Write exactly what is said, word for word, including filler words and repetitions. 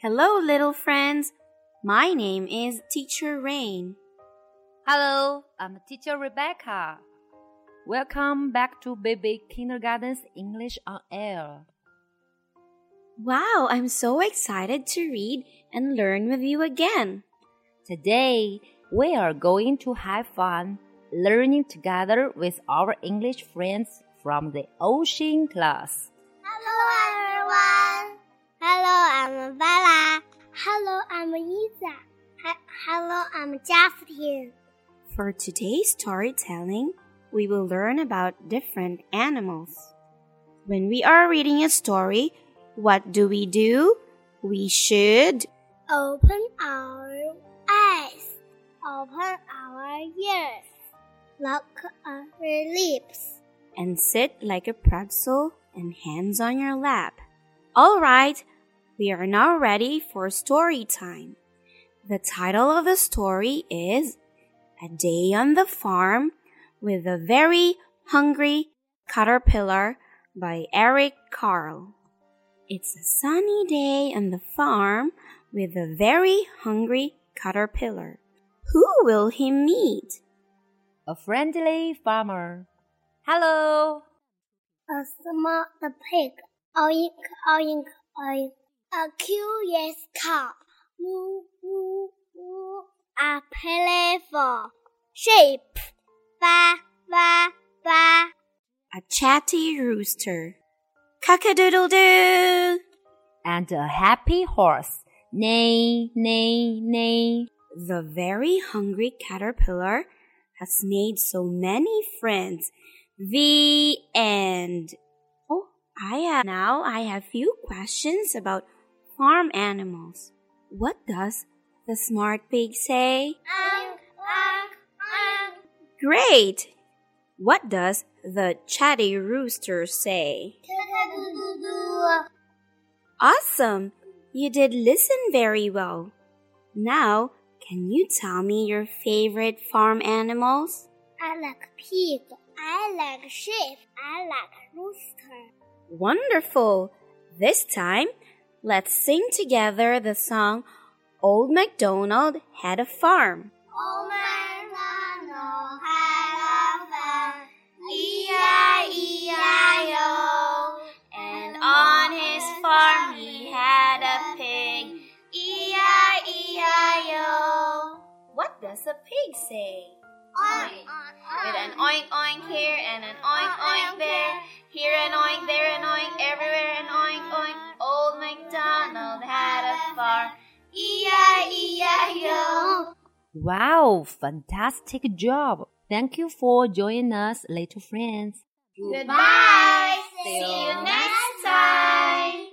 Hello, little friends. My name is Teacher Rain. Hello, I'm Teacher Rebecca. Welcome back to Baby Kindergarten's English on Air. Wow, I'm so excited to read and learn with you again. Today, we are going to have fun learning together with our English friends from the Ocean class. Hello, everyone. Hello, I'm Bella. Hello, I'm Isa. Hello, I'm Justin. For today's storytelling, we will learn about different animals. When we are reading a story, what do we do? We should open our eyes, open our ears, lock our lips, and sit like a pretzel and hands on your lap. All right, we are now ready for story time. The title of the story is A Day on the Farm with a Very Hungry Caterpillar by Eric Carle. It's a sunny day on the farm with a very hungry caterpillar. Who will he meet? A friendly farmer. Hello. A small pig. Oink, oink, oink. A curious cow. Moo, moo, moo. A playful sheep. Ba, ba, ba. A chatty rooster. Cock-a-doodle-doo. And a happy horse. Neigh, neigh, neigh. The very hungry caterpillar has made so many friends. The end. Oh, I have, now I have few questions about farm animals. What does the smart pig say? Oink, oink, oink. Great! What does the chatty rooster say? Cock-a-doodle-doo. Awesome! You did listen very well. Now, can you tell me your favorite farm animals? I like pig. I like sheep. I like rooster. Wonderful! This time, let's sing together the song Old MacDonald Had a Farm. Old MacDonald had a farm, E I E I O. And on his farm he had a pig, E I E I O. What does a pig say? Oink, With an oink oink here and an oink oink there, here an oink, there an oink, everywhere an oink oink. Old MacDonald had a farm, E I E I O. Wow, fantastic job. Thank you for joining us, little friends. Goodbye. See you next time.